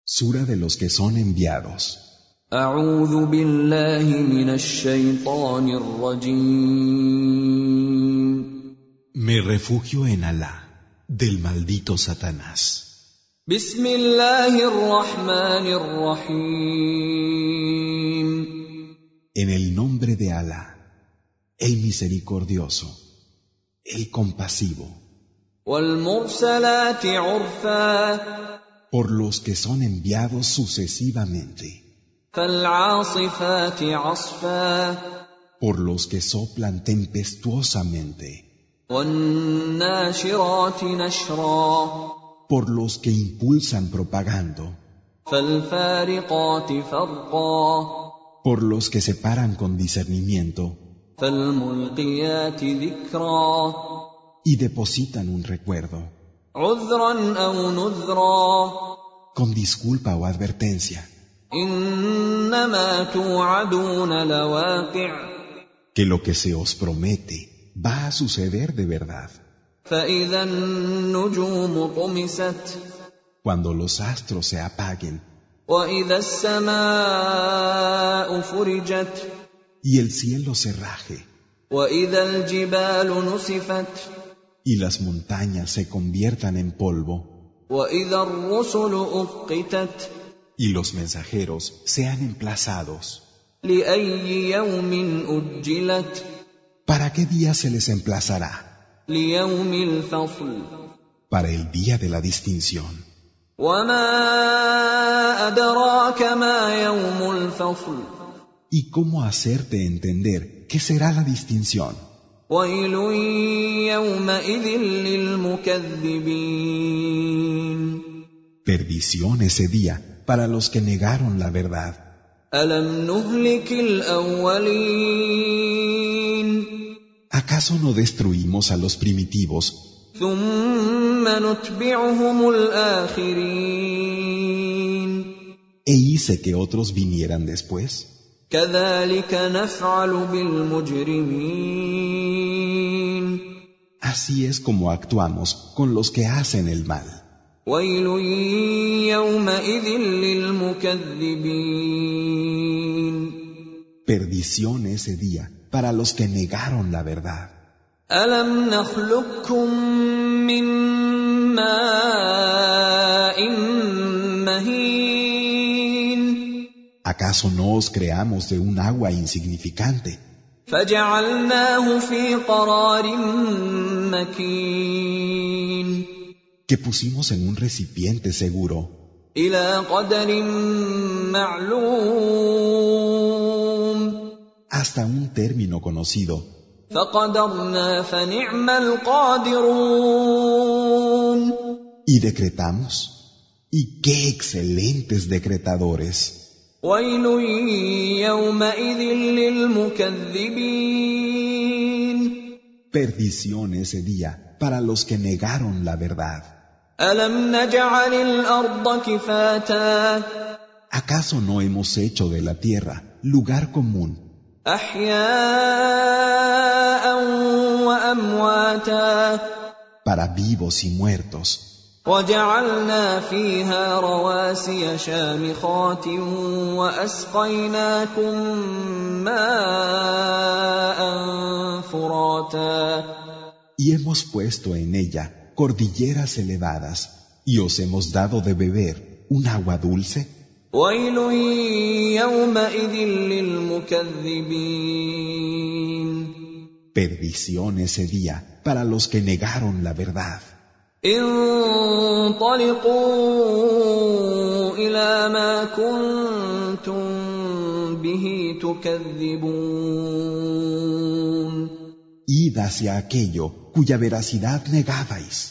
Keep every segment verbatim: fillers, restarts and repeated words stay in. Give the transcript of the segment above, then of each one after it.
Sura de los que son enviados. أعوذ بالله من الشيطان الرجيم. Me refugio en Alá, del maldito Satanás. بسم الله الرحمن الرحيم. En el nombre de Alá, el misericordioso, el compasivo. والمرسلات عرفا. Por los que son enviados sucesivamente. فالعاصفات عصفا. Por los que soplan tempestuosamente. والناشرات نشرا. Por los que impulsan propagando. فالفارقات فرقا. Por los que separan con discernimiento. فالملقيات ذكرا. Y depositan un recuerdo. عذرا أو نذرا. Con disculpa o advertencia. إنما توعدون لواقع. Que lo que se os promete va a suceder de verdad. فإذا النجوم طمست. Cuando los astros se apaguen. وإذا السماء فرجت. Y el cielo se raje. وإذا الجبال نسفت. Y las montañas se conviertan en polvo. وإذا الرسل أقتت. Y los mensajeros sean emplazados. لأي يوم أجلت. ¿Para qué día se les emplazará? ليوم الفصل. Para el día de la distinción. وما أدراك ما يوم الفصل. ¿Y cómo hacerte entender qué será la distinción? ويل يومئذ للمكذبين. Perdición ese día para los que negaron la verdad. ألم نهلك الأولين. ¿Acaso no destruimos a los primitivos? ثم نتبعهم الآخرين. ¿E hice que otros vinieran después? كذلك نفعل بالمجرمين. Así es como actuamos con los que hacen el mal. ويل يومئذ للمكذبين. Perdición ese día para los que negaron la verdad. ألم نخلقكم من ماء مهين. ¿Acaso no os creamos de un agua insignificante? فجعلناه في قرار مكين. Que pusimos en un recipiente seguro. إلى قدر معلوم. Hasta un término conocido. فقدرنا فنعم القادرون. Y decretamos. Y qué excelentes decretadores. ويل يومئذ للمكذبين. Perdición ese día para los que negaron la verdad. ألم نجعل الأرض كفاتا. ¿Acaso no hemos hecho de la tierra lugar común? أحياء وأمواتا. Para vivos y muertos. وجعلنا فيها رواسي شامخات وأسقيناكم ماء فراتا. Y hemos puesto en ella cordilleras elevadas, y os hemos dado de beber un agua dulce. ويل يومئذ للمكذبين. Perdición ese día para los que negaron la verdad. انطلقوا إلى ما كنتم به تكذبون. Id hacia aquello cuya veracidad negabais.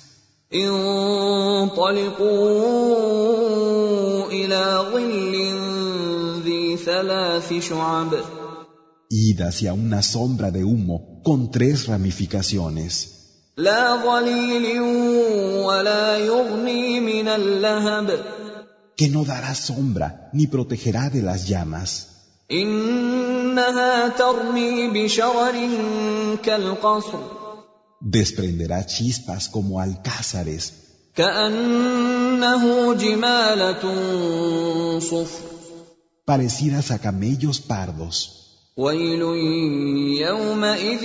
انطلقوا إلى ظل ذي ثلاث شعب. Id hacia una sombra de humo con tres ramificaciones. لا ظليل ولا يغني من اللهب. Que no dará sombra ni protegerá de las llamas. إنها ترمي بشرر كالقصر. Desprenderá chispas como alcázares. كأن كأنه جمالة صفر parecidas a camellos pardos. ويل يومئذ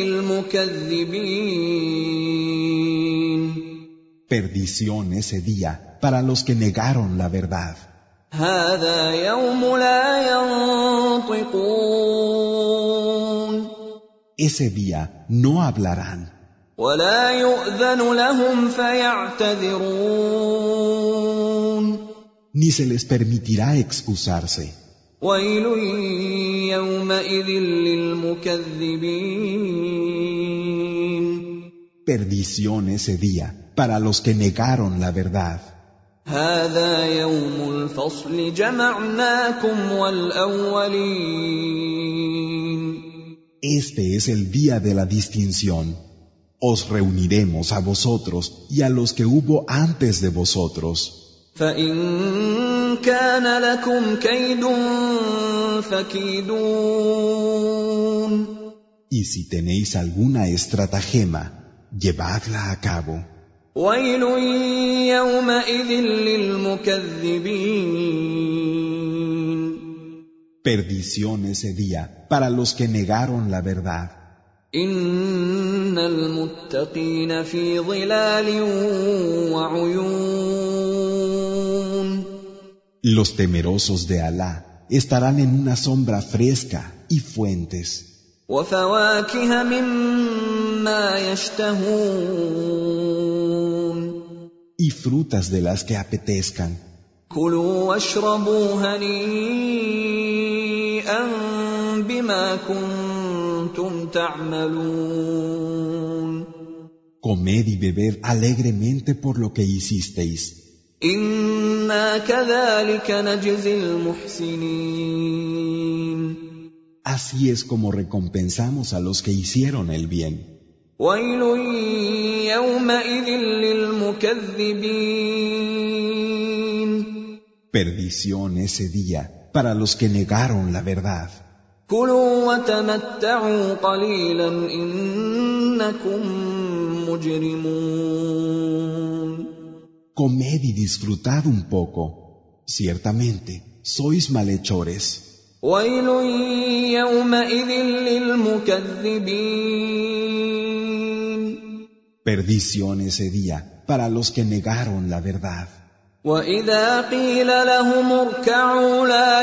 للمكذبين Perdición ese día para los que negaron la verdad. هذا يوم لا ينطقون Ese día no hablarán, ولا يؤذن لهم فيعتذرون ni se les permitirá excusarse. ويل يومئذ للمكذبين Perdición ese día para los que negaron la verdad. هذا يوم الفصل جمعناكم والأولين Este es el día de la distinción. Os reuniremos a vosotros y a los que hubo antes de vosotros. فإن كان لكم كيد فكيدون Y si tenéis alguna estratagema, llevadla a cabo. ويل يومئذ للمكذبين Perdición ese día para los que negaron la verdad. إن المتقين في ظلال وعيون Los temerosos de Alá estarán en una sombra fresca y fuentes. وفواكه مما يشتهون Y frutas de las que apetezcan. كلوا واشربوا هنيئا بما كنتم تعملون Comed y bebed alegremente por lo que hicisteis. إنا كذلك نجزي المحسنين Así es como recompensamos a los que hicieron el bien. ويل يومئذ للمكذبين Perdición ese día para los que negaron la verdad. كلوا وتمتعوا قليلا إنكم مجرمون Comed y disfrutad un poco. Ciertamente, sois malhechores. ويل يومئذ للمكذبين Perdición ese día para los que negaron la verdad. وإذا قيل لهم اركعوا لا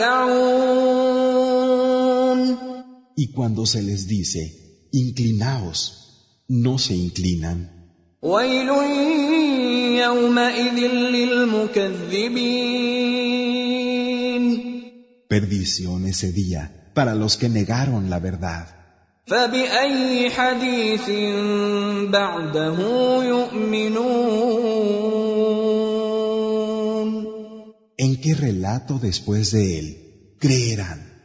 يركعون Y cuando se les dice, inclinaos, no se inclinan. ويل يومئذ للمكذبين Perdición ese día para los que negaron la verdad. فبأي حديث بعده يؤمنون ¿En qué relato después de él creerán?